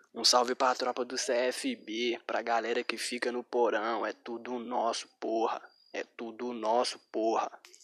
Um salve pra tropa do CFB, pra galera que fica no porão, é tudo nosso, porra. É tudo nosso, porra.